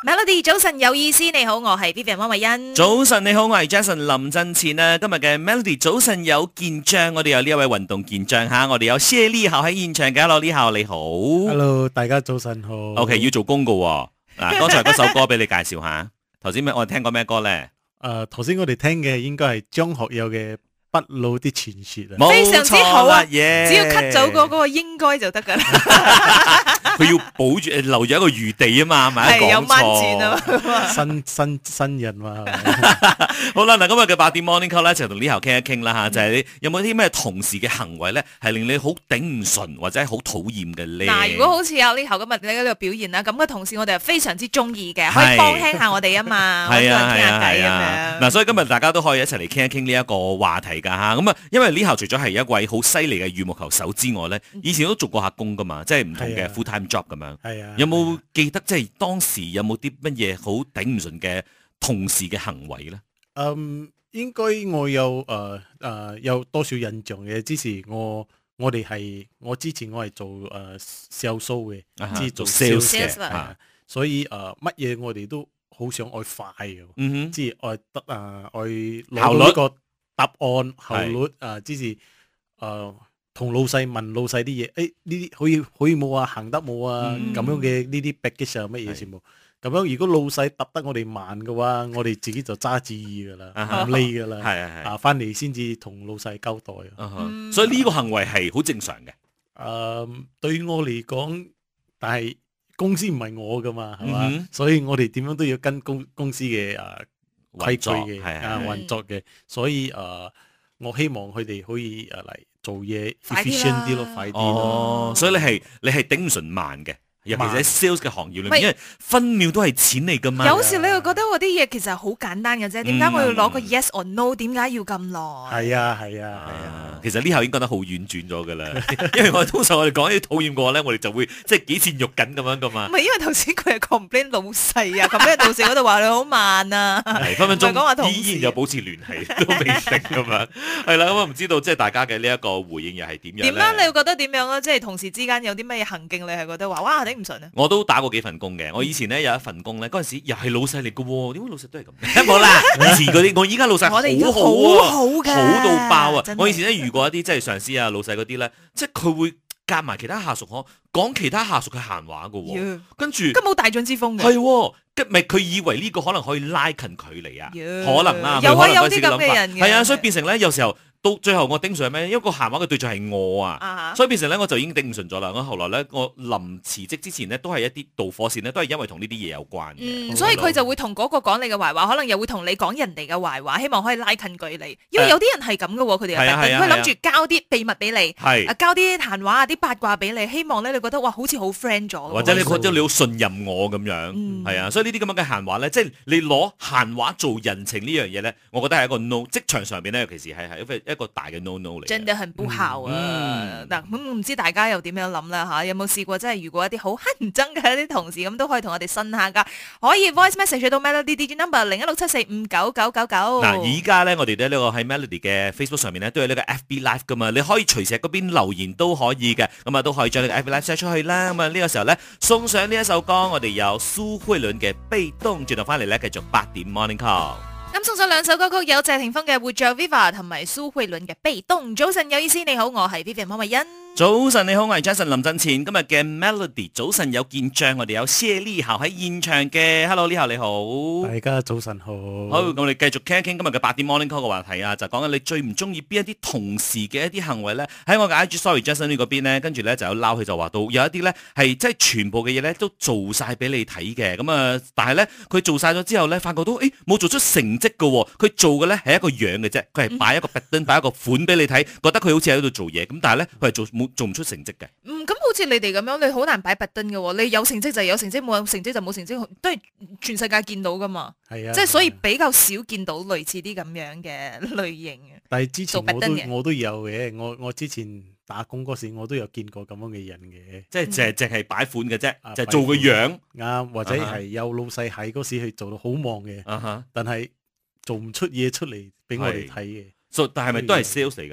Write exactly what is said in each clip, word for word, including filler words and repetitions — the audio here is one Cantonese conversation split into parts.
Melody 早晨有意思，你好，我係 Vivian 汪慧欣。 早晨你好，我係 Jason 林振前啊。今日嘅 Melody 早晨有健將，我哋有呢一位運動健將吓，我哋有謝立豪喺現場嘅。Hello， 立豪你好。 Hello， 大家早晨好。 OK， 要做功噶喎。嗱，剛才嗰首歌俾你介紹下。頭先咩？我哋聽過咩歌咧？ 誒，頭先我哋聽嘅應該係張學友嘅《不老的傳說》啊， 非常之好啊！ yeah、 只要 cut 走嗰嗰個應該就得噶啦。 佢要保住留住一個餘地啊嘛，咪係有講掹錢啊嘛，新新新人嘛。 好啦，嗱，今日嘅八點 Morning Call 咧，就同立豪傾一傾啦吓，就係、是、你有冇啲咩同事嘅行為咧，係令你好頂唔順或者係好討厭嘅咧？ 嗱，如果好似有立豪今日你呢個表現啦，咁嘅同事我哋係非常之中意嘅，可以幫輕下我哋啊嘛，可以傾下偈咁樣。嗱， 所以今日大家都可以一齊嚟傾一傾呢一個話題噶吓。咁啊，因為立豪除咗係一位好犀利嘅羽毛球手之外咧，以前都做過下工噶嘛，即係唔同嘅 full time job 咁樣。 係啊。 有冇記得即係當時有冇啲乜嘢好頂唔順嘅同事嘅行為咧？ 嗯，應該我有誒誒、呃呃、有多少印象嘅？之前我我哋係我之前我係做誒 sales 嘅，即係做 sales 嘅，所以誒乜嘢我哋都好想愛快嘅，嗯哼，即係愛得啊愛攞到一個答案效率啊，之前誒。同老細問老細啲嘢，誒呢啲可以可以冇啊，行得冇啊，咁、嗯、樣嘅呢啲 baggage 啊乜嘢全部，咁樣如果老細揼得我哋慢嘅話，我哋自己就揸主意噶啦，唔理噶啦，係係係，啊翻嚟先至同老細交代啊， 嗯、所以呢個行為係好正常嘅。誒、 呃，對於我嚟講，但係公司唔係我噶嘛，係嘛、嗯，所以我哋點樣都要跟公公司嘅誒規矩嘅啊運作嘅，所以誒、呃，我希望佢哋可以誒嚟。做嘢 efficient 啲咯，快啲咯。 哦，所以你係你係頂唔順慢嘅，尤其是喺 sales 嘅行業裏面，因為分秒都係錢嚟噶嘛。 有時你會覺得我啲嘢其實好簡單嘅啫，點解我要攞個 yes or no？ 點解要咁耐？ 係啊係啊係啊。 其實呢下已經覺得好婉轉咗噶啦，因為我哋通常我哋講啲討厭嘅話咧，我哋就會即係幾錢肉緊咁樣噶嘛。 唔係，因為頭先佢係 complain 老細啊，complain 老細嗰度話你好慢啊， 係分分鐘依然有保持聯繫都未定咁樣。係啦，咁啊唔知道即係大家嘅呢一個回應又係點樣咧？點樣你會覺得點樣啊？即係同事之間有啲咩行徑，你係覺得話哇頂唔順啊？ 我都打過幾份工嘅，我以前咧有一份工咧，嗰陣時又係老細嚟嘅喎，點解老細都係咁？冇啦，以前嗰啲我依家老細好好啊，好到爆啊！我以前咧遇過一啲即係上司啊、老細嗰啲咧，即係佢會夾埋其他下屬可講其他下屬嘅閒話嘅喎，yeah. 跟住根本冇大將之風嘅， 係喎，跟咪佢以為呢個可能可以拉近距離啊，yeah. 可能啊， 有啊有啲咁嘅人嘅， 係啊，所以變成咧有時候。到最後我頂唔順係咩？因為個閒話嘅對象係我啊，uh-huh. 所以變成咧我就已經頂唔順咗啦。我後來咧，我臨辭職之前呢，都係一啲導火線呢，都係因為同呢啲嘢有關嘅。 嗯，所以佢就會同嗰個講你嘅壞話，可能又會同你講人哋嘅壞話，希望可以拉近距離。因為有啲人係咁嘅喎，佢哋係佢諗住交啲秘密俾你，係啊，交啲閒話啊、啲八卦俾你，希望咧你覺得哇，好似好 friend 咗， 或者你覺得你好信任我咁樣，係、嗯、啊。所以呢啲咁樣嘅閒話咧，即係你攞閒話做人情呢樣嘢咧，我覺得係一個 no。職場上邊咧，尤其是係係一個大嘅 no no。 真的很不好啊！嗱、嗯，咁唔知大家又點樣諗啦吓？有冇試過真係遇過一啲好乞人憎嘅一啲同事咁，都可以同我哋呻下噶。可以 voice message 到 Melody D J number 零一六七四五九九九九。 嗱，而家咧我哋咧呢個喺 Melody 嘅 Facebook 上面咧都有呢個 F B Live 噶嘛，你可以隨時喺嗰邊留言都可以嘅，咁啊都可以將呢個 F B Live share 出去啦。咁啊呢個時候咧送上呢一首歌，我哋有蘇慧倫嘅被動，轉頭翻嚟咧繼續八點 Morning Call。 咁送上兩首歌曲，有謝霆鋒嘅《活着 Viva》同埋蘇慧倫嘅《被動》。早晨有意思，你好，我係 Vivian 潘慧欣。 早晨你好，我係 Jason 林振前。今日嘅 Melody 早晨有見將，我哋有謝立豪喺現場嘅。Hello， 立豪你好。 大家早晨好。 好，我哋繼續傾一傾今日嘅八點 Morning Call 嘅話題啊，就講緊你最唔中意邊一啲同事嘅一啲行為咧。喺我嘅 I G Sorry Jason 呢嗰邊咧，跟住咧就有撈佢就話到有一啲咧係即係全部嘅嘢咧都做晒俾你睇嘅。咁啊，但係咧佢做晒咗之後咧，發覺到誒冇做出成績嘅。佢做嘅咧係一個樣嘅啫，佢係擺一個 pattern 擺一個款俾你睇，覺得佢好似喺度做嘢。咁但係咧佢係做冇做唔出成績嘅。 嗯，咁好似你哋咁樣，你好難擺 pattern 嘅。你有成績就有成績，冇成績就冇成績，都係全世界見到噶嘛。係啊，即係所以比較少見到類似啲咁樣嘅類型嘅。 但係之前我都我都有嘅，我我之前打工嗰時我都有見過咁樣嘅人嘅， 即係淨係淨係擺款嘅啫，就係做個樣啱，或者係有老細喺嗰時去做到好忙嘅，但係做唔出嘢出嚟俾我哋睇嘅。 但係咪都係 sales 嚟㗎？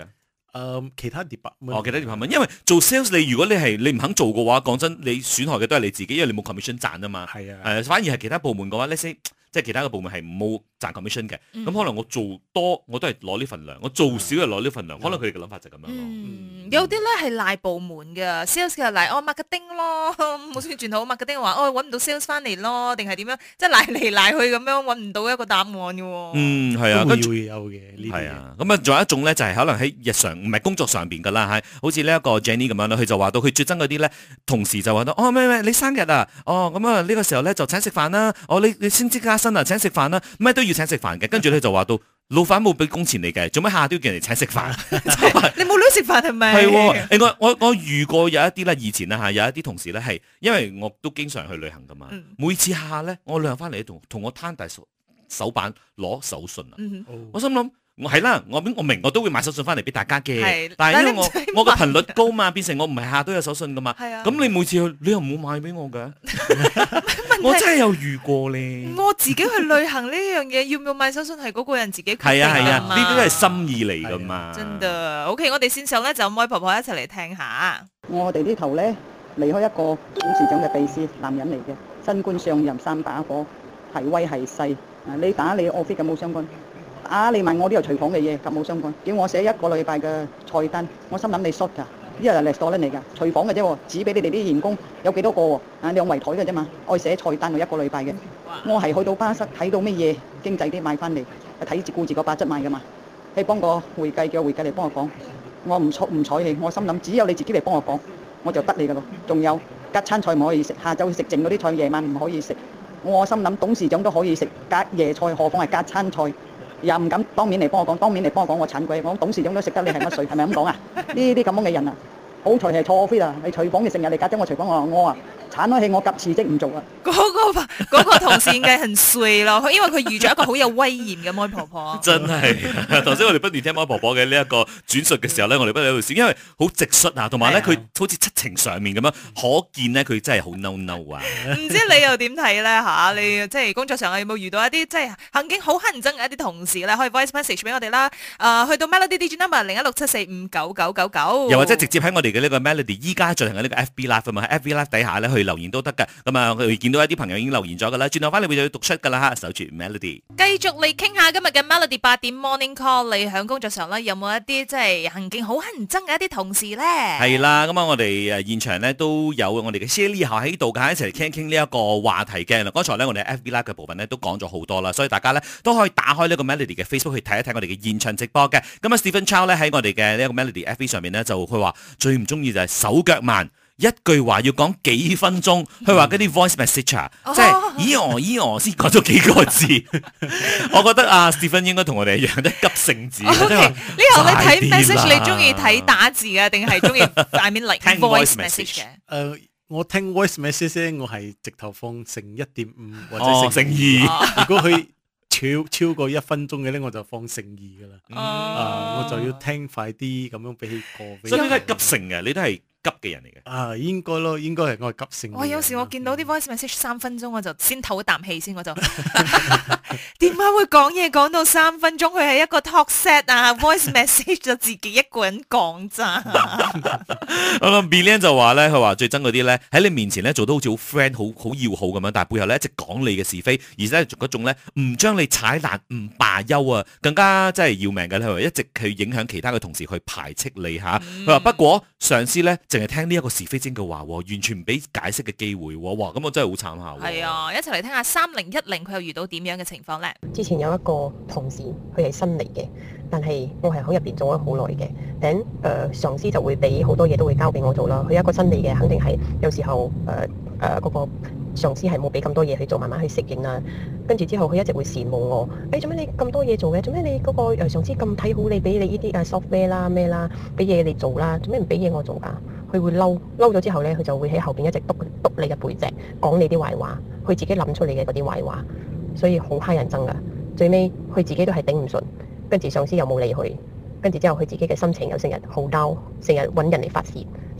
誒，其他 department 哦，其他 department，因為做 sales 你如果你係你唔肯做嘅話，講真，你損害嘅都係你自己，因為你冇 commission 賺啊嘛。 係啊， 誒，反而係其他部門嘅話，let's say即係其他嘅部門係冇賺 commission 嘅，咁、嗯、可能我做多我都係攞呢份糧，我做少就攞呢份糧，嗯、可能佢哋嘅諗法就咁樣咯。 嗯，有啲咧係賴部門嘅 sales 嘅賴哦 marketing 咯，冇算轉好 marketing 話哦揾唔到 sales 翻嚟咯，定係點樣？即係賴嚟賴去咁樣揾唔到一個答案嘅喎。 嗯，係啊， 都會有嘅呢啲。 係啊，咁啊，仲有一種咧就係、是、可能喺日常唔係工作上邊㗎啦，係好似呢一個 Jenny 咁樣啦，佢就話到佢最憎嗰啲咧同事就話到哦咩咩你生日啊，哦咁啊呢個時候咧就請食飯啦，哦你你升職加薪啊請食飯啦。咩都要請食飯嘅，跟住咧就話到老闆冇俾工錢你嘅，做咩下都要叫人哋請食飯？ 你冇女食飯係咪？ 係喎，另外我我遇過有一啲咧，以前啦嚇，有一啲同事咧係，因為我都經常去旅行噶嘛，嗯、每次下下咧，我旅行翻嚟同同我攤大手手板攞手信啊，嗯、我心諗。我係啦，我我明我都會買手信翻嚟俾大家嘅，但係因為我我個頻率高嘛，變成我唔係下下都有手信噶嘛。係啊，咁你每次去你又唔好買俾我嘅，我真係有遇過咧。 我自己去旅行呢樣嘢，要唔要買手信係嗰個人自己決定。係啊係啊，呢啲都係心意嚟噶嘛。 真嘅 ，OK， 我哋線上咧就麥婆婆一齊嚟聽下。 我哋呢頭咧離開一個董事長嘅秘書，男人嚟嘅，新官上任三把火，係威係勢。啊，你打你 office 嘅冇相干。啊！你問我呢個廚房嘅嘢，咁冇相關。叫我寫一個禮拜嘅菜單，我心諗你 short 㗎，呢個係 restaurant嚟㗎，廚房嘅啫喎，指俾你哋啲員工有幾多個喎？啊，兩圍台嘅啫嘛，愛寫菜單我一個禮拜嘅。我係去到巴塞睇到乜嘢經濟啲買翻嚟，睇住顧住個八質買㗎嘛。你幫個會計叫會計嚟幫我講，我唔睬唔睬你，我心諗只有你自己嚟幫我講，我就得你㗎咯。仲有隔餐菜唔可以食，下晝食剩嗰啲菜夜晚唔可以食。我心諗董事長都可以食隔夜菜，何況係隔餐菜？又唔敢當面嚟幫我講，當面嚟幫我講我慘鬼，我董事長都食得你係乜水，係咪咁講啊？呢啲咁樣嘅人啊，好彩係錯 fit 啊！你廚房嘅成日嚟隔咗我廚房，我話我啊慘咗氣，我夾辭職唔做啊！ 嗰、嗰個嗰個同事應該很衰咯，因為佢遇咗一個好有威嚴嘅麥婆婆。真係，頭先我哋不斷聽麥婆婆嘅呢一個轉述嘅時候咧，我哋不斷喺度笑，因為好直率啊，同埋咧佢好似七情上面咁樣，可見咧佢真係好嬲嬲啊！唔知你又點睇咧嚇？你即係工作上有冇遇到一啲即係行徑好乞人憎嘅一啲同事咧？可以 voice message 俾我哋啦。誒、呃，去到 Melody D J number 零一六七四五九九九九， 又或者直接喺我哋嘅呢個 Melody 依家進行嘅呢個 F B Live 啊嘛，喺 F B Live 底下咧去留言都得㗎。咁啊，佢見到一啲朋友已經留言咗㗎啦，轉頭翻嚟會就要讀出㗎啦嚇，守住 Melody。 繼續嚟傾下今日嘅 Melody 八點 Morning Call，你喺工作上咧有冇一啲即係行徑好乞人憎嘅一啲同事咧？ 係啦，咁啊，我哋誒現場咧都有我哋嘅 Shelly 下喺度㗎，一齊嚟傾一傾呢一個話題嘅。嗱，剛才咧我哋 F B Live 嘅部分咧都講咗好多啦，所以大家咧都可以打開呢個 Melody 嘅 Facebook 去睇一睇我哋嘅現場直播嘅。咁啊 Stephen Chow 咧喺我哋嘅呢一個 Melody F B 上面咧就佢話最唔中意就係手腳慢。一句話要講幾分鐘，佢話嗰啲 voice message 啊，嗯、即係咦哦咦哦先講咗幾個字，我覺得啊 Stephen 應該同我哋一樣，都急性子。呢個你睇 message 你中意睇打字啊，定係中意 I mean like voice message 嘅？ 誒，我聽 voice message 咧，我係直頭放成一點五或者成二。 如果佢超超過一分鐘嘅咧，我就放成二噶啦。 嗯、 啊，我就要聽快啲咁樣俾佢過。 所以呢個係急性嘅，你都係急嘅人嚟嘅。 啊，應該咯，應該係我係急性。 我有時我見到啲 voice message 三分鐘，我就先唞一啖氣先，我就點解會講嘢講到三分鐘？佢係一個 talk set 啊，voice message 就自己一個人講咋。 我諗 Billion 就話咧，佢話最憎嗰啲咧喺你面前咧做到好似好 friend 好好要好咁樣，但係背後咧一直講你嘅是非，而且嗰種咧唔將你踩爛唔罷休啊，更加真係要命嘅咧。佢話一直去影響其他嘅同事去排斥你嚇。佢話、嗯、不過上司咧淨係聽呢一個是非精嘅話，完全唔俾解釋嘅機會。哇！咁我真係好慘下。 係啊，一齊嚟聽下三零一零佢又遇到點樣嘅情況咧？ 之前有一個同事，佢係新嚟嘅，但係我係喺入邊做咗好耐嘅。等誒上司就會俾好多嘢都會交俾我做啦。佢一個新嚟嘅，肯定係有時候誒誒嗰個上司係冇俾咁多嘢去做，慢慢去適應啦。跟住之後，佢一直會羨慕我。誒做咩你咁多嘢做嘅？做咩你嗰個誒上司咁睇好你，俾你呢啲誒 software 啦咩啦，俾嘢你做啦？做咩唔俾嘢我做㗎？佢會嬲嬲咗之後咧，佢就會喺後邊一直督督你嘅背脊，講你啲壞話，佢自己諗出嚟嘅嗰啲壞話，所以好蝦人憎噶。最尾佢自己都係頂唔順，跟住上司又冇理佢，跟住之後佢自己嘅心情又成日好嬲，成日揾人嚟發泄，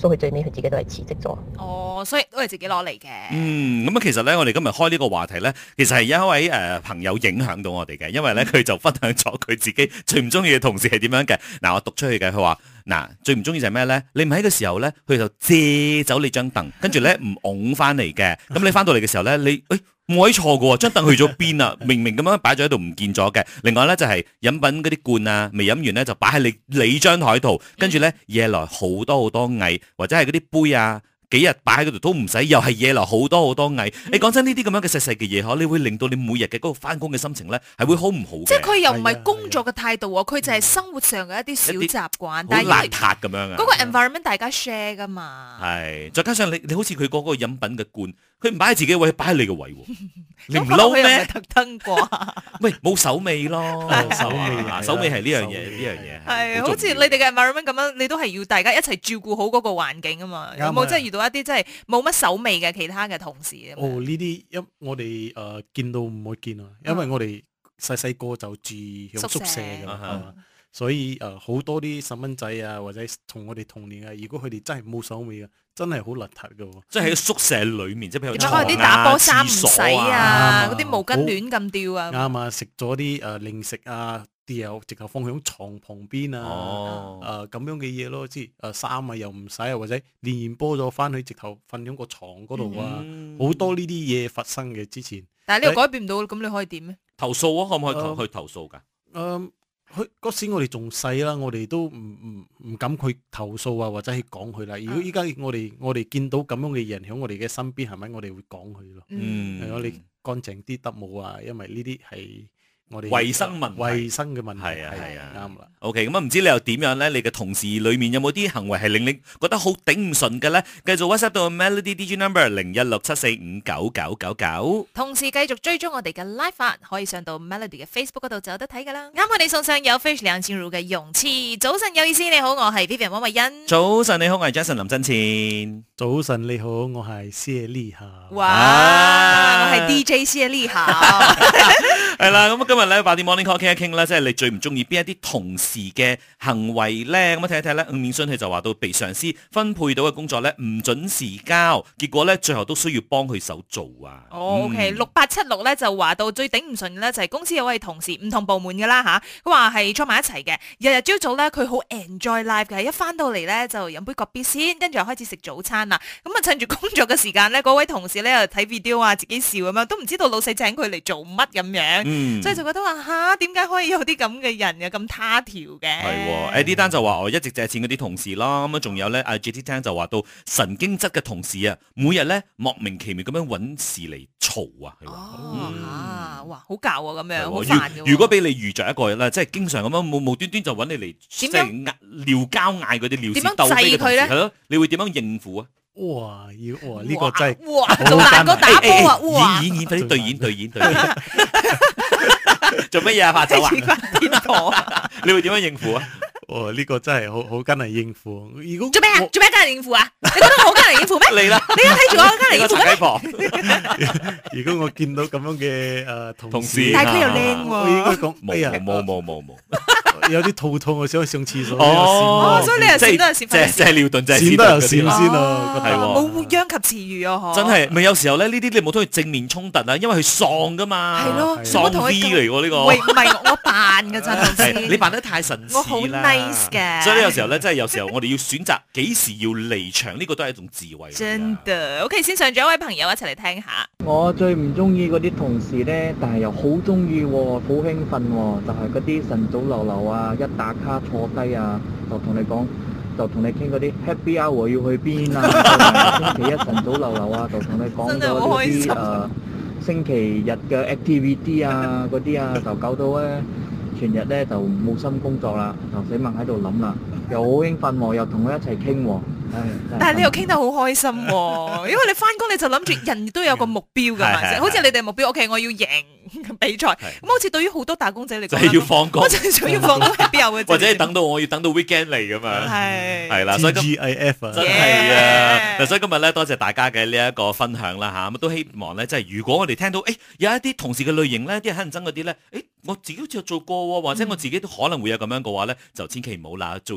所以佢最尾佢自己都係辭職咗。 哦，所以都係自己攞嚟嘅。 嗯，咁啊，其實咧，我哋今日開呢個話題咧，其實係有一位誒、呃、朋友影響到我哋嘅，因為咧佢就分享咗佢自己最唔中意嘅同事係點樣嘅。嗱，我讀出去嘅，佢話嗱最唔中意就係咩咧？你唔喺嘅時候咧，佢就借走你張凳，跟住咧唔拱翻嚟嘅。咁你翻到嚟嘅時候咧，你誒冇位坐嘅喎，張凳去咗邊啊？明明咁樣擺咗喺度唔見咗嘅。另外咧就係、是、飲品嗰啲罐啊，未飲完咧就擺喺你你張台度，跟住咧惹來好多好多蟻，或者係嗰啲杯啊。幾日擺喺嗰度都唔使，又係惹來好多好多蟻。你講真呢啲咁樣嘅細細嘅嘢，嗬，你會令到你每日嘅嗰個翻工嘅心情咧，係會好唔好嘅。 即係佢又唔係工作嘅態度喎，佢就係生活上嘅一啲小習慣，但係好邋遢咁樣啊。 嗰個 environment 大家 share 噶嘛。 係，再加上你你好似佢嗰個飲品嘅罐，佢唔擺喺自己位，擺喺你嘅位喎。你唔嬲嬲咩？ 特登啩？ 喂，冇手尾咯， 手尾啊，手尾係呢樣嘢，呢樣嘢係好似你哋嘅 environment 咁樣，你都係要大家一齊照顧好嗰個環境啊嘛。有冇真係遇到一啲真係冇乜手尾嘅其他嘅同事啊？ 哦，呢啲因我哋誒見到唔會見啊，因為我哋細細個就住喺宿舍㗎嘛，所以誒好多啲細蚊仔啊，或者同我哋同年啊，如果佢哋真係冇手尾啊，真係好邋遢㗎喎。 即係喺宿舍裡面，即係譬如點解啲打波衫唔洗啊？嗰啲毛巾亂咁掉啊？ 啱啊！食咗啲誒零食啊，掉直頭放喺床旁邊啊，誒咁樣嘅嘢咯，即係誒衫啊又唔洗啊，或者練完波咗翻去直頭瞓喺個床嗰度啊，好多呢啲嘢發生嘅之前。 但係呢個改變唔到，咁你可以點咧？ 投訴啊，可唔可以投去投訴㗎？ 誒。佢嗰時我哋仲細啦，我哋都唔唔唔敢去投訴啊，或者去講佢啦。如果依家我哋我哋見到咁樣嘅人喺我哋嘅身邊，係咪我哋會講佢咯？嗯，我哋乾淨啲得冇啊？因為呢啲係我哋衞生問題， 衞生嘅問題係啊係啊， 啱啦。 OK，咁啊唔知你又點樣咧？你嘅同事裡面有冇啲行為係令你覺得好頂唔順嘅咧？繼續 WhatsApp 到 Melody D J Number 零一六七四五九九九九。同時繼續追蹤我哋嘅 live 發，可以上到 Melody 嘅 Facebook 嗰度就有得睇噶啦。啱我哋送上有 Fish 梁靜茹嘅勇氣。早晨有意思，你好，我係 Vivian 汪慧欣。早晨你好，我係 Jason 林振前。 早晨你好，我係謝麗霞。 哇，我係 D J 謝麗霞。 係啦，咁今日咧八點 Morning Call 傾一傾咧，即係你最唔中意邊一啲同事嘅行為咧？咁啊睇一睇咧，吳面信佢就話到被上司分配到嘅工作咧唔準時交，結果咧最後都需要幫佢手做啊。 哦，OK，六八七六咧就話到最頂唔順嘅咧就係公司有位同事唔同部門嘅啦吓，佢話係坐埋一齊嘅，日日朝早咧佢好 enjoy life 嘅，一翻到嚟咧就飲杯個 B 先，跟住又開始食早餐啦。咁啊趁住工作嘅時間咧，嗰位同事咧又睇 video 啊，自己笑咁樣，都唔知道老細請佢嚟做乜咁樣。嗯、所以就覺得話吓，點解可以有啲咁嘅人嘅咁他條嘅？ 係，Eddie Dan就話我一直借錢嗰啲同事啦，咁啊仲有咧，阿 J T Dan 就話到神經質嘅同事啊，每日咧莫名其妙咁樣揾事嚟嘈啊。 哦，嗯、啊，哇，好教啊咁樣，好煩嘅。 如果俾你遇着一個咧，即係經常咁樣無無端端就揾你嚟，即係撩交嗌嗰啲撩事鬥非嘅同事，係咯，你會點樣應付啊？ 哇！要哇呢個真係哇，做大個打波啊！哇， 演演演，快啲對演對演對演，做乜嘢啊？怕走啊？你會點樣應付啊？ 哦，呢個真係好好艱難應付。如果做咩啊？做咩艱難應付啊？你覺得我好艱難應付咩？ 嚟啦！ 你而家睇住我艱難應付咩？ 如果我見到咁樣嘅誒同事， 但係佢又靚喎， 我應該講冇冇冇冇冇。 有啲肚痛，我想去上廁所。 哦，所以你又閃都係閃， 即係即係尿遁，即係閃都有閃先咯。 係冇殃及池魚啊！ 真係咪有時候咧？呢啲你冇同佢正面衝突啊，因為佢喪噶嘛。 係咯， 喪 V 嚟喎呢個。 喂，唔係我扮㗎咋，同事。 你扮得太神似啦。 我好 nice 嘅。 所以呢，有時候咧，真係有時候我哋要選擇幾時要離場，呢個都係一種智慧。 真的。OK，先上咗一位朋友一齊嚟聽下。 我最唔中意嗰啲同事咧，但係又好中意喎，好興奮喎，就係嗰啲晨早流流啊，一打卡坐低啊，就同你講，就同你傾嗰啲 Happy Hour 要去邊啊，星期一晨早流流啊，就同你講咗嗰啲誒星期日嘅 activity 啊嗰啲啊，就搞到咧全日咧就冇心工作啦，就死猛喺度諗啦，又好興奮喎，又同佢一齊傾喎。 但係你又傾得好開心喎，因為你翻工你就諗住人都有個目標㗎嘛，好似你哋目標 OK，我要贏比賽，咁好似對於好多打工仔嚟講， 就係要放工， 我就係想要放工係邊有嘅， 或者係等到我要等到 weekend 嚟㗎嘛， 係係啦，所以 G I F 啊， 真係啊，嗱，所以今日咧多謝大家嘅呢一個分享啦嚇，咁都希望咧即係如果我哋聽到誒有一啲同事嘅類型咧，啲人乞人憎嗰啲咧，誒我自己好似有做過喎，或者我自己都可能會有咁樣嘅話咧，就千祈唔好啦，做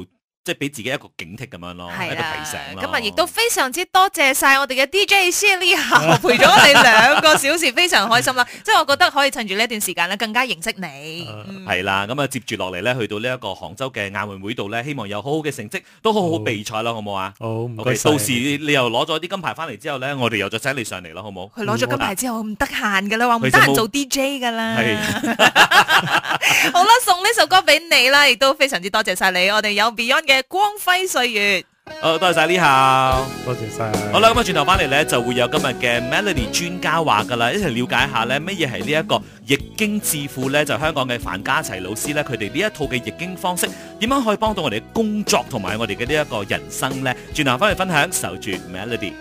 即係俾自己一個警惕咁樣咯，一個提醒咯。 今日亦都非常之多謝晒我哋嘅 D J Shelly 陪咗我哋兩個小時，非常開心啦。即係我覺得可以趁住呢一段時間咧，更加認識你。 係啦，咁啊接住落嚟咧，去到呢一個杭州嘅亞運會度咧，希望有好好嘅成績，都好好比賽啦，好唔好啊？ 好，唔該晒。 到時你又攞咗啲金牌翻嚟之後咧，我哋又再請你上嚟咯，好唔好？ 佢攞咗金牌之後唔得閒噶啦，話唔得閒做 D J 噶啦。好啦，送呢首歌俾你啦，亦都非常之多謝晒你。我哋有 Beyond 嘅光輝歲月。 好，多謝晒呢下， 多謝晒。 好啦，咁啊轉頭翻嚟咧，就會有今日嘅 Melody 專家話噶啦，一齊了解下咧乜嘢係呢一個易經智庫咧，就香港嘅范家齊老師咧，佢哋呢一套嘅易經方式，點樣可以幫到我哋嘅工作同埋我哋嘅呢一個人生咧？轉頭翻嚟分享，守住 Melody。